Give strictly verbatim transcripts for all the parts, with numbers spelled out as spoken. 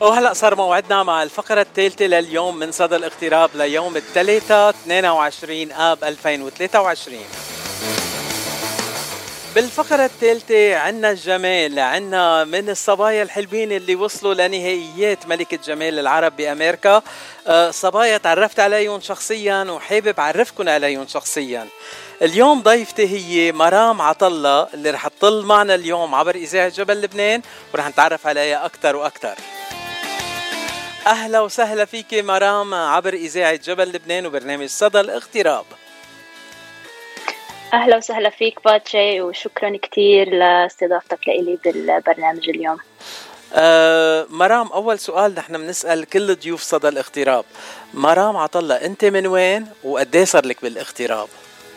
وهلأ صار موعدنا مع الفقرة الثالثة لليوم من صدى الاغتراب ليوم الثلاثاء اثنين وعشرين آب ألفين وثلاثة وعشرين. بالفقرة الثالثة عنا الجمال، عنا من الصبايا الحلوين اللي وصلوا لنهائيات ملكة جمال العرب بأمريكا. أه صبايا تعرفت عليهم شخصيا وحابب أعرفكم عليهم شخصيا. اليوم ضيفتي هي مرام عطلة اللي رح تطل معنا اليوم عبر إذاعة جبل لبنان ورح نتعرف عليها أكتر وأكتر. أهلا وسهلا فيك مرام عبر إذاعة جبل لبنان وبرنامج صدى الاغتراب. أهلا وسهلا فيك باتشي، وشكرا كتير لاستضافتك لإلي بالبرنامج اليوم. أه مرام، أول سؤال نحن بنسأل كل ضيوف صدى الاغتراب. مرام عطلة، أنت من وين وقديه صار لك بالاغتراب؟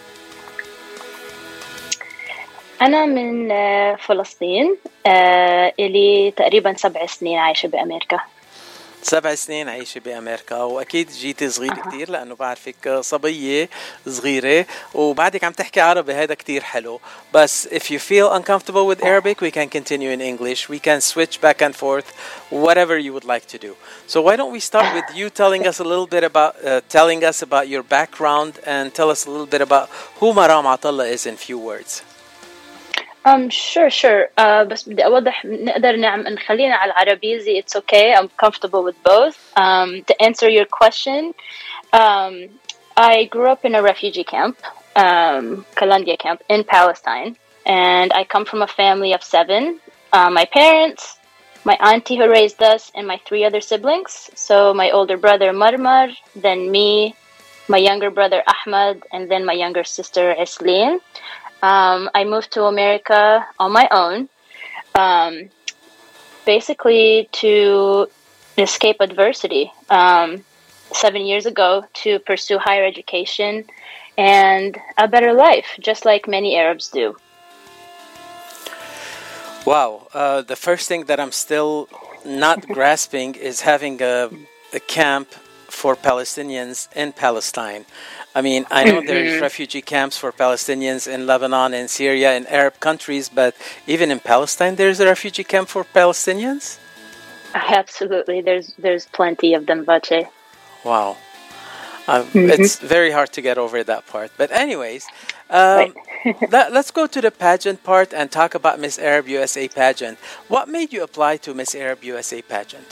أنا من فلسطين، إلي تقريبا سبع سنين عايشة بأمريكا. سبع سنين عايشة بأمريكا، وأكيد جيتي صغير أه. كتير لأنه بعرفك صبية صغيرة وبعدك عم تحكي عربي، هذا كتير حلو. بس if you feel uncomfortable with Arabic, we can continue in English. We can switch back and forth, whatever you would like to do. So why don't we start with you telling us a little bit about uh, telling us about your background and tell us a little bit about who Maram Attallah is in few words. Um, sure, sure. Uh, بس بدي أوضح نقدر نعم نخلينا على العربية. It's okay. I'm comfortable with both. Um, to answer your question, um, I grew up in a refugee camp, um, Kalandia camp in Palestine, and I come from a family of seven. Uh, my parents, my auntie who raised us, and my three other siblings. So my older brother Marmar, then me, my younger brother Ahmad, and then my younger sister Esleen. Um, I moved to America on my own, um, basically to escape adversity, um, seven years ago, to pursue higher education and a better life, just like many Arabs do. Wow. Uh, the first thing that I'm still not grasping is having a, a camp for Palestinians in Palestine. I mean, I know mm-hmm. there's refugee camps for Palestinians in Lebanon and Syria and Arab countries, but even in Palestine, there's a refugee camp for Palestinians? Absolutely. There's there's plenty of them, Bache. Wow. Um, mm-hmm. It's very hard to get over that part. But anyways, um, let, let's go to the pageant part and talk about Miss Arab U S A pageant. What made you apply to Miss Arab U S A pageant?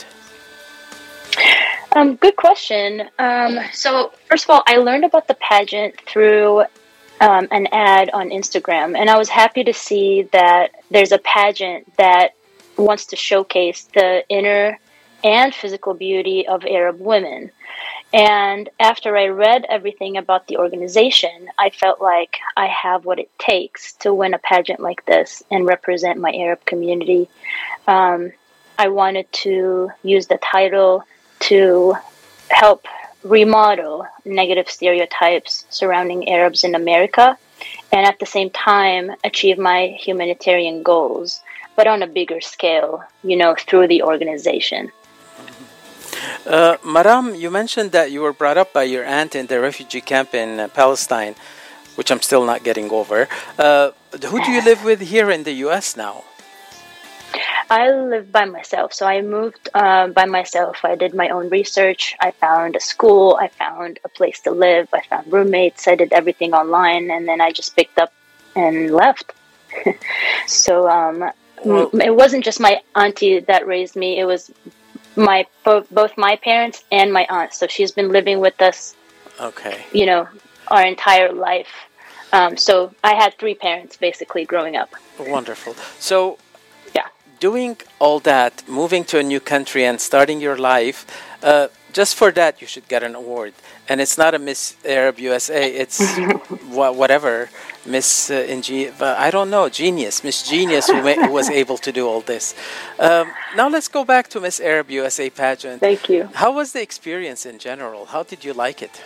Um, good question. Um, so first of all, I learned about the pageant through um, an ad on Instagram, and I was happy to see that there's a pageant that wants to showcase the inner and physical beauty of Arab women. And after I read everything about the organization, I felt like I have what it takes to win a pageant like this and represent my Arab community. Um, I wanted to use the title to help remodel negative stereotypes surrounding Arabs in America, and at the same time achieve my humanitarian goals, but on a bigger scale, you know, through the organization. Uh, Maram, you mentioned that you were brought up by your aunt in the refugee camp in uh, Palestine, which I'm still not getting over. Uh, who do you live with here in the U S now? I live by myself, so I moved uh, by myself. I did my own research. I found a school. I found a place to live. I found roommates. I did everything online, and then I just picked up and left. so um, well, m- it wasn't just my auntie that raised me. It was my both, both my parents and my aunt. So she's been living with us, okay, you know, our entire life. Um, so I had three parents basically growing up. Wonderful. So. Doing all that, moving to a new country and starting your life, uh, just for that you should get an award. And it's not a Miss Arab U S A, it's wh- whatever, Miss uh, Inge- I don't know, Genius, Miss Genius who, ma- who was able to do all this. Um, now let's go back to Miss Arab U S A pageant. Thank you. How was the experience in general? How did you like it?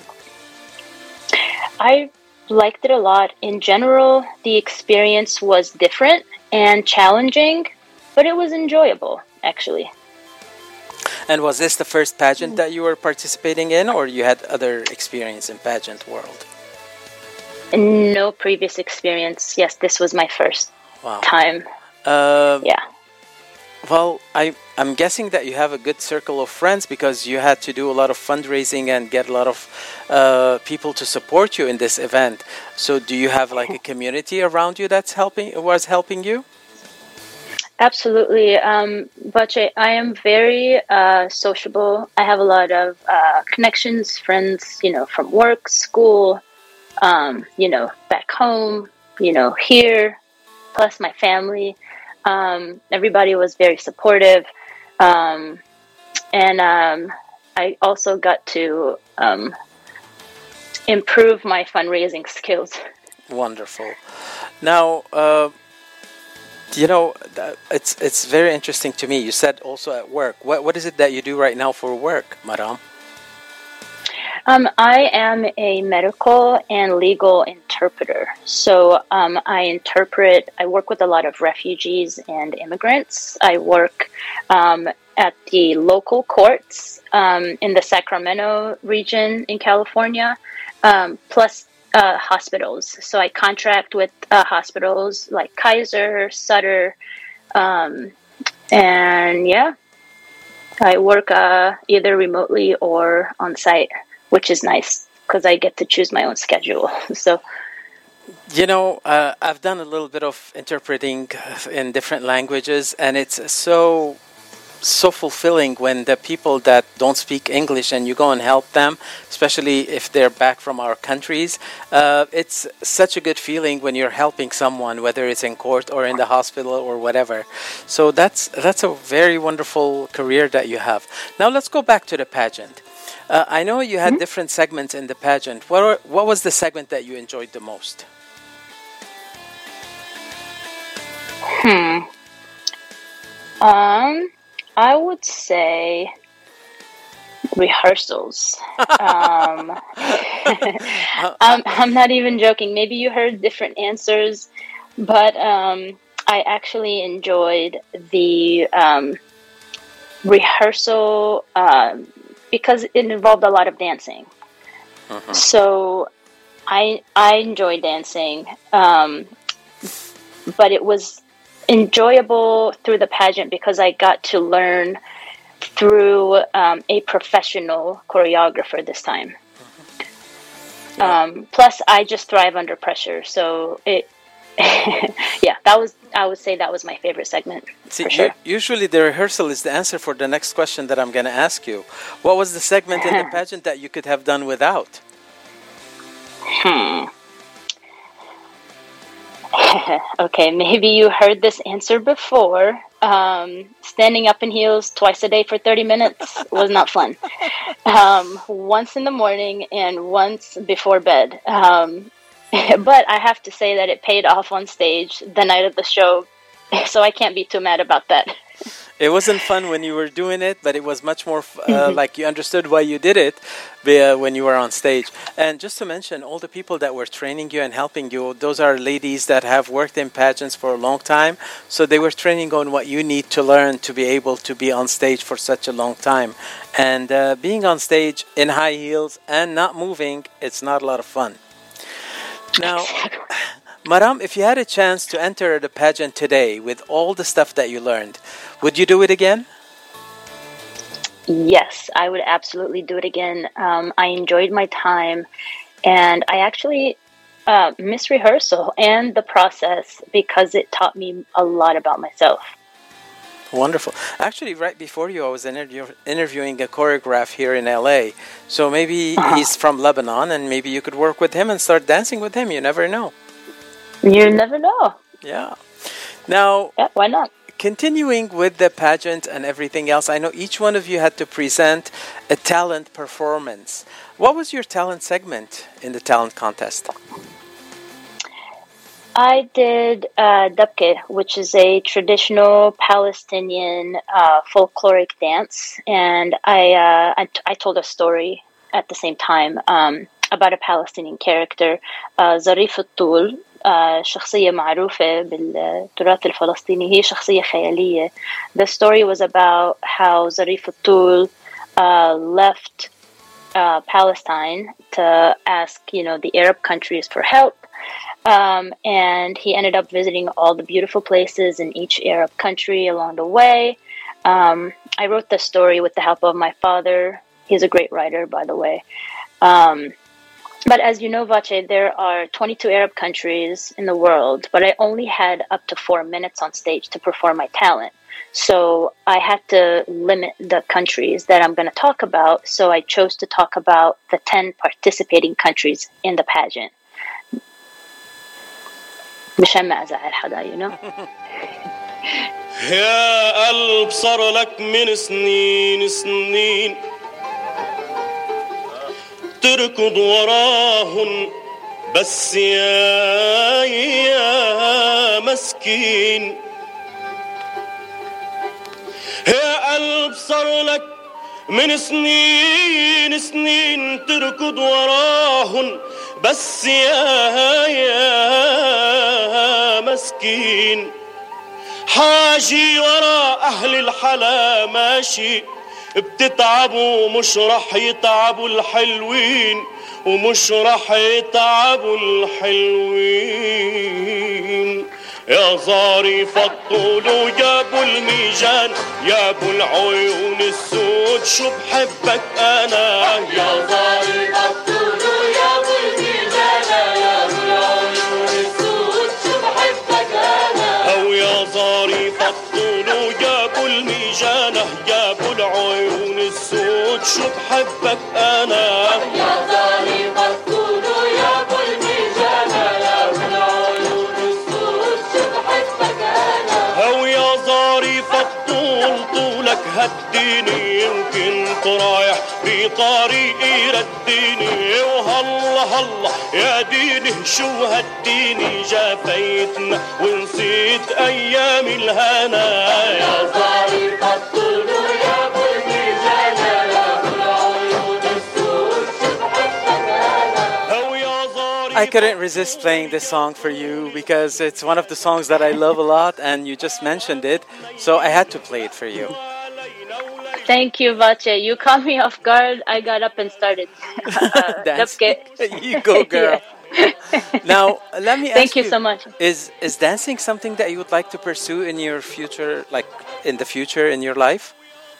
I liked it a lot. In general, the experience was different and challenging, but it was enjoyable, actually. And was this the first pageant that you were participating in, or you had other experience in pageant world? No previous experience. Yes, this was my first wow. time. Um, yeah. Well, I I'm guessing that you have a good circle of friends because you had to do a lot of fundraising and get a lot of uh, people to support you in this event. So do you have like a community around you that's helping, was helping you? Absolutely. Um, Bache, I am very uh, sociable. I have a lot of uh, connections, friends, you know, from work, school, um, you know, back home, you know, here, plus my family. Um, everybody was very supportive. Um, and um, I also got to um, improve my fundraising skills. Wonderful. Now, uh, you know, it's it's very interesting to me. You said also at work. What what is it that you do right now for work, Maram? Um, I am a medical and legal interpreter. So um, I interpret. I work with a lot of refugees and immigrants. I work um, at the local courts um, in the Sacramento region in California, um, plus. Uh, hospitals. So I contract with uh, hospitals like Kaiser, Sutter, um, and yeah, I work uh, either remotely or on site, which is nice because I get to choose my own schedule. So, you know, uh, I've done a little bit of interpreting in different languages, and it's so so fulfilling when the people that don't speak English and you go and help them, especially if they're back from our countries. Uh, it's such a good feeling when you're helping someone, whether it's in court or in the hospital or whatever. So that's that's a very wonderful career that you have. Now let's go back to the pageant. Uh, I know you had mm-hmm. different segments in the pageant. What are, what was the segment that you enjoyed the most? Hmm. Um. I would say rehearsals. um, I'm, I'm not even joking. Maybe you heard different answers, but um, I actually enjoyed the um, rehearsal uh, because it involved a lot of dancing. Uh-huh. So I I enjoy dancing, um, but it was enjoyable through the pageant because I got to learn through um, a professional choreographer this time. Mm-hmm. Yeah. Um, plus, I just thrive under pressure, so it. yeah, that was. I would say that was my favorite segment. See, for sure. Usually the rehearsal is the answer for the next question that I'm going to ask you. What was the segment in the pageant that you could have done without? Hmm. Okay, maybe you heard this answer before. Um, standing up in heels twice a day for thirty minutes was not fun. Um, once in the morning and once before bed. Um, but I have to say that it paid off on stage the night of the show, so I can't be too mad about that. It wasn't fun when you were doing it, but it was much more uh, like you understood why you did it uh, when you were on stage. And just to mention, all the people that were training you and helping you, those are ladies that have worked in pageants for a long time. So they were training on what you need to learn to be able to be on stage for such a long time. And uh, being on stage in high heels and not moving, it's not a lot of fun. Now, Maram, if you had a chance to enter the pageant today with all the stuff that you learned, would you do it again? Yes, I would absolutely do it again. Um, I enjoyed my time, and I actually uh, miss rehearsal and the process because it taught me a lot about myself. Wonderful. Actually, right before you, I was interview- interviewing a choreographer here in L A. So maybe uh-huh. he's from Lebanon, and maybe you could work with him and start dancing with him. You never know. You never know. Yeah. Now, yeah, why not? Continuing with the pageant and everything else, I know each one of you had to present a talent performance. What was your talent segment in the talent contest? I did uh, Dabke, which is a traditional Palestinian uh, folkloric dance, and I, uh, I t- I told a story at the same time um, about a Palestinian character, uh, Zarif al-Tul. Uh, شخصية معروفة بالتراث الفلسطيني هي شخصية خيالية. The story was about how Zarif al-Tul uh, left uh, Palestine to ask, you know, the Arab countries for help, um, and he ended up visiting all the beautiful places in each Arab country along the way. Um, I wrote the story with the help of my father. He's a great writer, by the way. Um, but as you know, Vache, there are twenty-two Arab countries in the world, but I only had up to four minutes on stage to perform my talent. So I had to limit the countries that I'm going to talk about. So I chose to talk about the ten participating countries in the pageant. مشان ما أزعل حدا, you know. يا قلب صار لك من سنين سنين تركض وراهن بس يا يا مسكين يا قلب صار لك من سنين سنين تركض وراهن بس يا يا مسكين حاجي ورا أهل الحلا ماشي بتتعبوا مش رح يتعبوا الحلوين ومش رح يتعبوا الحلوين يا ظريف الطول ويا ابو الميجان يا ابو العيون السود شو بحبك انا يا ظريف الطول ويا ابو الميجان يا ابو العيون السود شو بحبك انا او يا ظريف الطول ويا ابو الميجان يا ابو العيون السود شو بحبك انا يا ظريف الطول ويا ابو الميجان يا ابو العيون السود شو بحبك انا او يا ظريف الطول طولك هديني يمكن رايح بطريقي رديني وهلا هلا يا ديني شو هديني جافيتنا ونسيت ايام الهنا يا ظريف الطول ويا ابو الميزان يا ابو العيون السود شو بحبك انا او يا ظريف I couldn't resist playing this song for you because it's one of the songs that I love a lot and you just mentioned it, so I had to play it for you. Thank you, Vache. You caught me off guard. I got up and started. Uh, dancing. You go, girl. Now, let me ask Thank you, you so much. Is, is dancing something that you would like to pursue in your future, like in the future in your life?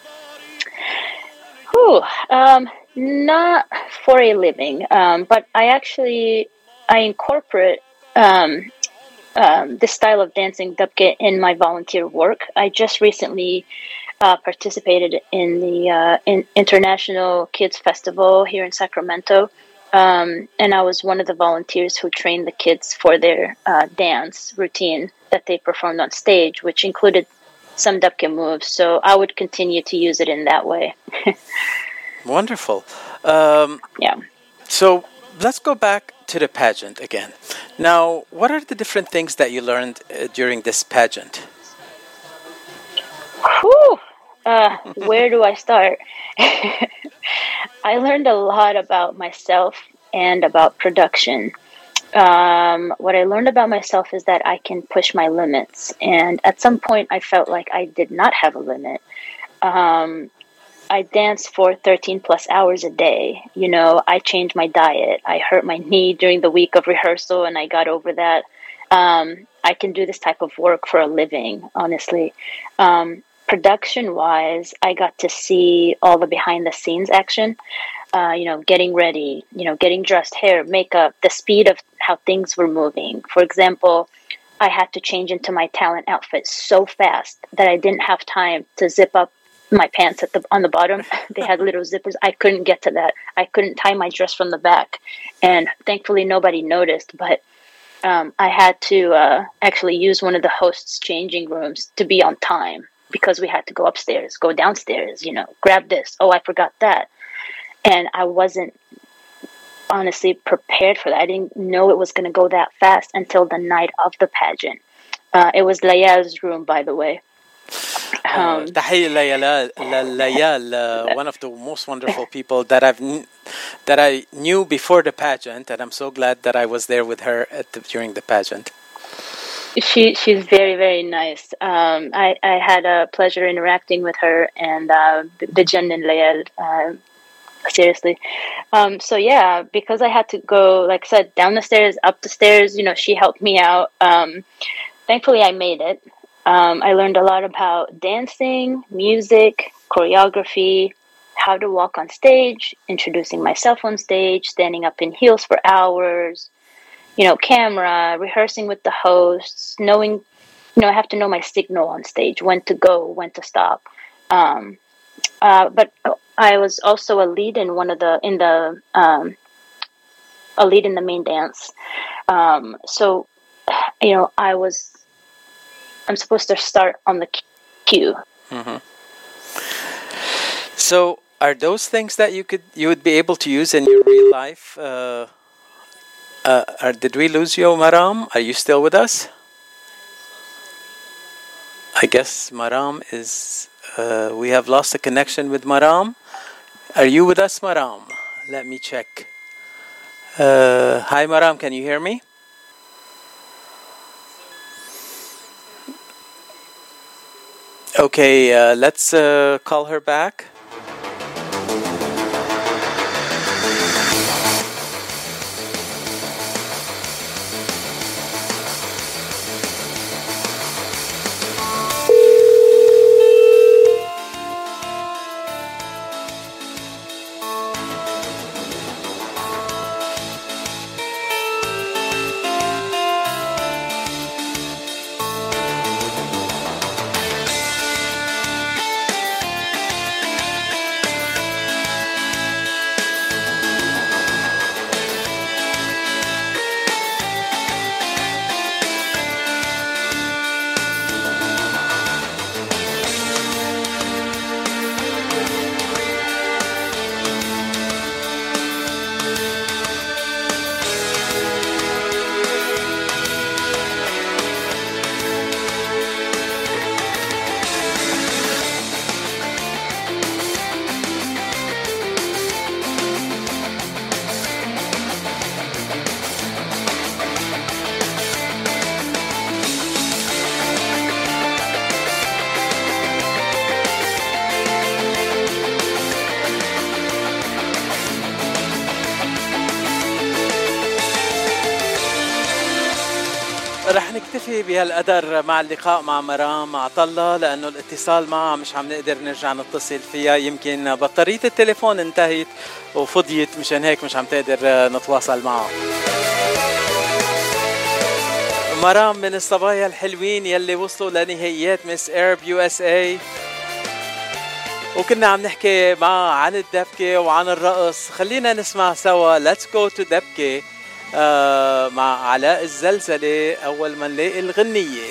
Whew, um, not for a living, um, but I actually, I incorporate um, um, this style of dancing dabke in my volunteer work. I just recently uh, participated in the uh, in International Kids Festival here in Sacramento, um, and I was one of the volunteers who trained the kids for their uh, dance routine that they performed on stage, which included some dabke moves. So I would continue to use it in that way. Wonderful. Um, yeah. So let's go back to the pageant again. Now, what are the different things that you learned uh, during this pageant? Whew. Uh, where do I start? I learned a lot about myself and about production. Um, what I learned about myself is that I can push my limits. And at some point, I felt like I did not have a limit. Um, I danced for thirteen plus hours a day. You know, I changed my diet. I hurt my knee during the week of rehearsal and I got over that. Um, I can do this type of work for a living, honestly. Um, production wise, I got to see all the behind the scenes action, uh, you know, getting ready, you know, getting dressed, hair, makeup, the speed of how things were moving. For example, I had to change into my talent outfit so fast that I didn't have time to zip up my pants at the on the bottom. They had little zippers. I couldn't get to that. I couldn't tie my dress from the back. And thankfully nobody noticed, but um, I had to uh, actually use one of the hosts' changing rooms to be on time because we had to go upstairs, go downstairs, you know, grab this. Oh, I forgot that. And I wasn't honestly prepared for that. I didn't know it was going to go that fast until the night of the pageant. Uh, it was Layal's room, by the way. Um, تحية ليال, Layal, uh, one of the most wonderful people that I've that I knew before the pageant, and I'm so glad that I was there with her at the, during the pageant. She she's very very nice. Um, I I had a pleasure interacting with her and uh, Bijan and Layal. Uh, seriously, um, so yeah, because I had to go, like I said, down the stairs, up the stairs. You know, she helped me out. Um, thankfully, I made it. Um, I learned a lot about dancing, music, choreography, how to walk on stage, introducing myself on stage, standing up in heels for hours, you know, camera, rehearsing with the hosts, knowing, you know, I have to know my signal on stage, when to go, when to stop. Um, uh, but I was also a lead in one of the, in the, um, a lead in the main dance. Um, so, you know, I was, I'm supposed to start on the cue. Mm-hmm. So, are those things that you could you would be able to use in your real life? Uh, uh, are, did we lose you, Maram? Are you still with us? I guess Maram is. Uh, we have lost a connection with Maram. Are you with us, Maram? Let me check. Uh, hi, Maram. Can you hear me? Okay, uh, let's uh, call her back. رح نكتفي بهالقدر مع اللقاء مع مرام عطلة، لأنه الاتصال معها مش عم نقدر نرجع نتصل فيها. يمكن بطارية التليفون انتهت وفضيت، مشان هيك مش عم تقدر نتواصل معها. مرام من الصبايا الحلوين يلي وصلوا لنهائيات مس ايرب يو اس اي، وكنا عم نحكي معها عن الدبكة وعن الرقص. خلينا نسمع سوا Let's Go to دبكة آه مع علاء الزلزلة أول ما نلاقي الغنية.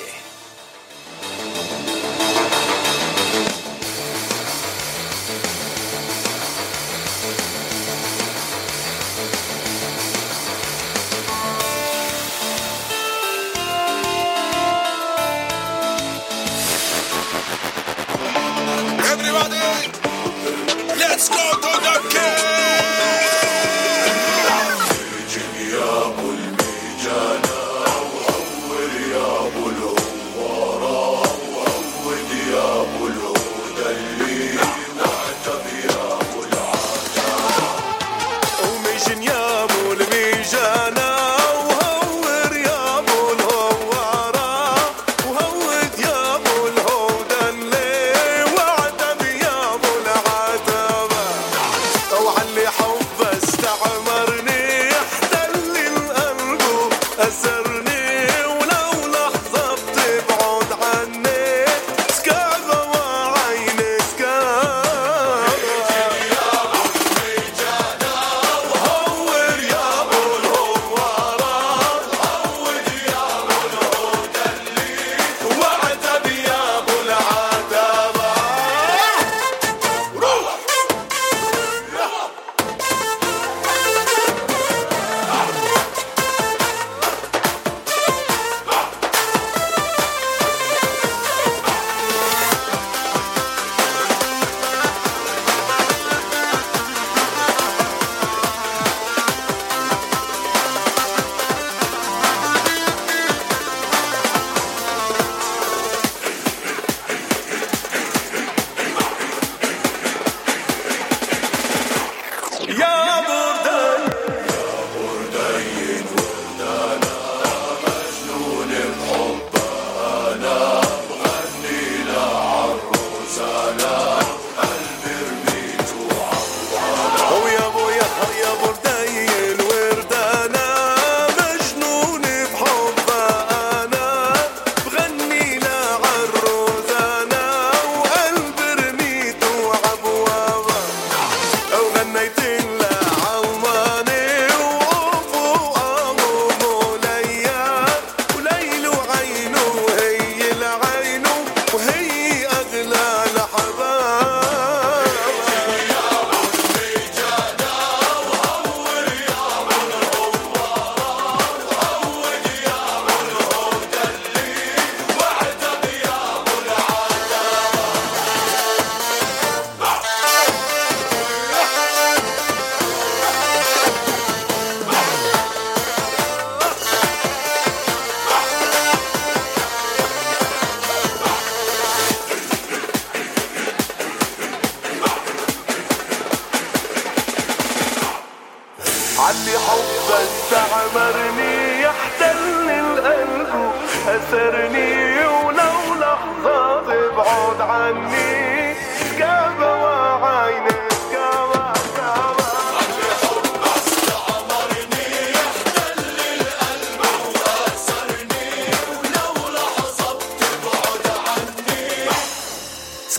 Everybody, let's go to دبكة. Oh,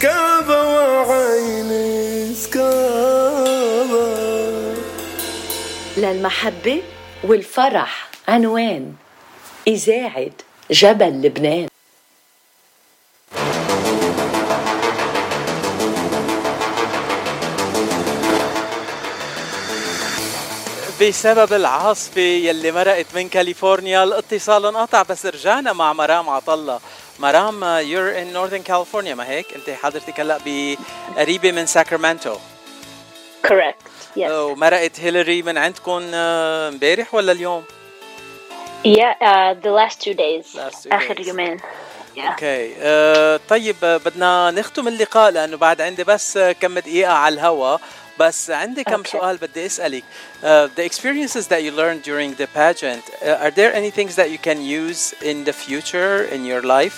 سكابة وعيني سكابة. للمحبة والفرح عنوان إذاعة جبل لبنان. بسبب العاصفة يلي مرقت من كاليفورنيا الاتصال انقطع، بس رجعنا مع مرام عطلة. مرام you're in Northern California ما هيك؟ انت حضرتك هلا بقريبة من ساكرامنتو. Correct. Yes. ومرقت هيلاري من عندكم امبارح ولا اليوم؟ Yeah, uh, the last two days. Last two آخر days. يومين. Yeah. اوكي uh, طيب بدنا نختم اللقاء لأنه بعد عندي بس كم دقيقة على الهوا، بس عندي كم Okay. سؤال بدي أسألك. uh, The experiences that you learned during the pageant, uh, are there any things that you can use in the future in your life?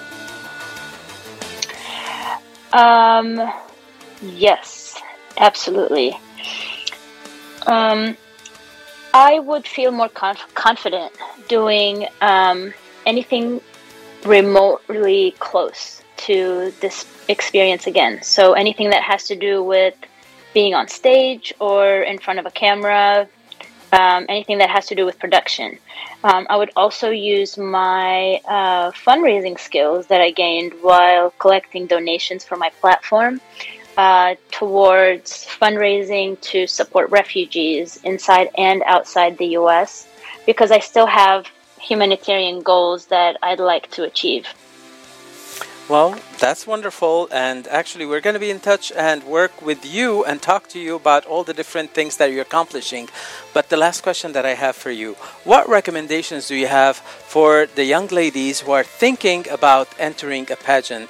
Um, yes, absolutely. Um, I would feel more conf- confident doing um, anything remotely close to this experience again. So anything that has to do with being on stage or in front of a camera, um, anything that has to do with production. Um, I would also use my uh, fundraising skills that I gained while collecting donations for my platform uh, towards fundraising to support refugees inside and outside the U S, because I still have humanitarian goals that I'd like to achieve. Well, that's wonderful, and actually we're going to be in touch and work with you and talk to you about all the different things that you're accomplishing. But the last question that I have for you, what recommendations do you have for the young ladies who are thinking about entering a pageant?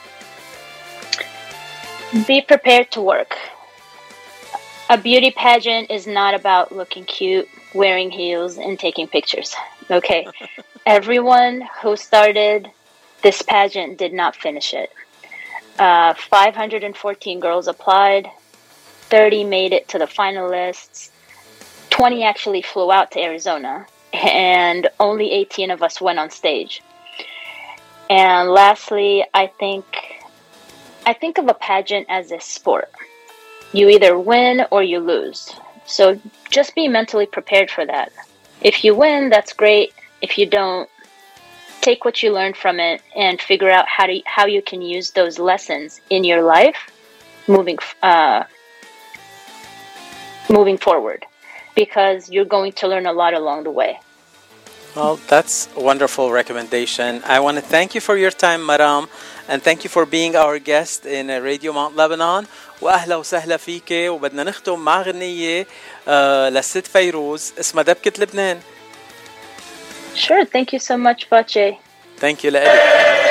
Be prepared to work. A beauty pageant is not about looking cute, wearing heels, and taking pictures. Okay? Everyone who started this pageant did not finish it. Uh, five hundred fourteen girls applied, thirty made it to the finalists, twenty actually flew out to Arizona, and only eighteen of us went on stage. And lastly, I think I think of a pageant as a sport. You either win or you lose. So just be mentally prepared for that. If you win, that's great. If you don't, take what you learned from it and figure out how to how you can use those lessons in your life moving uh, moving forward, because you're going to learn a lot along the way. Well, that's a wonderful recommendation. I want to thank you for your time, Maram, and thank you for being our guest in Radio Mount Lebanon. وأهلا وسهلا فيك. وبدنا نختم مع غنية uh, للست فيروز اسمها دبكة لبنان. Sure, thank you so much, Bache. Thank you لألك.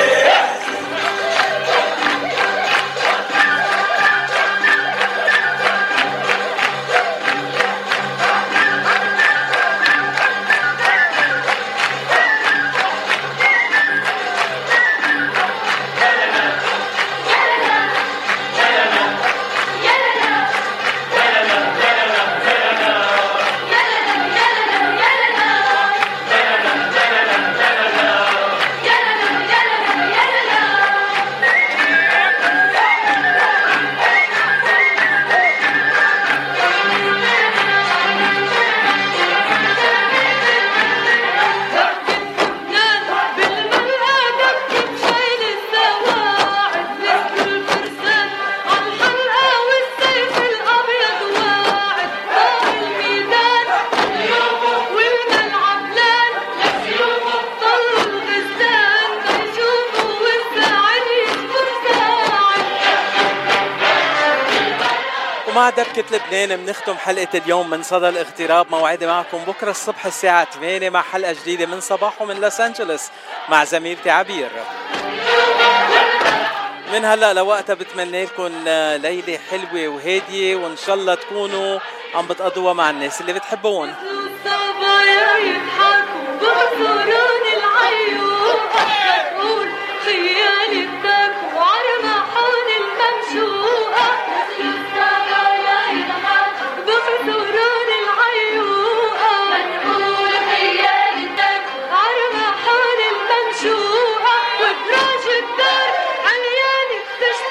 ومع دبكة لبنان بنختم حلقة اليوم من صدى الاغتراب. موعدي معكم بكرة الصبح الساعة ثمانية مع حلقة جديدة من صباحه من لوس أنجلوس مع زميلتي عبير. من هلا لوقتها بتمنى لكم ليلة حلوة وهادية، وإن شاء الله تكونوا عم بتقضوها مع الناس اللي بتحبون. عرمحون الممشوقة وبراج الدار عميان التشويق.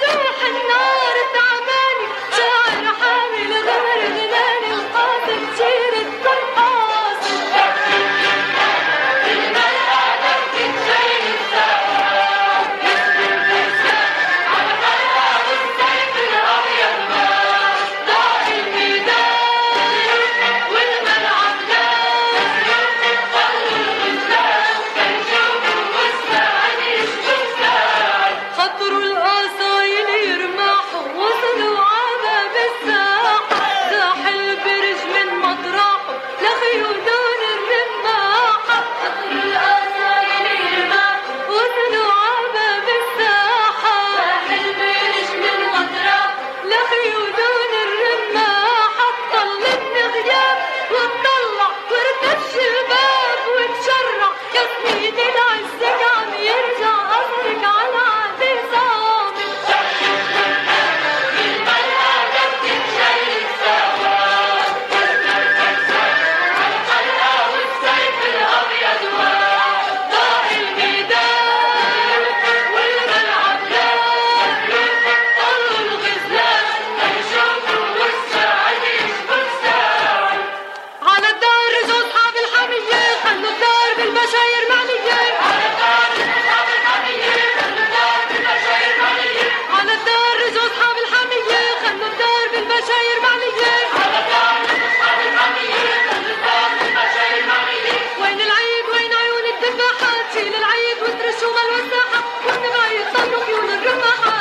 خيول الرمح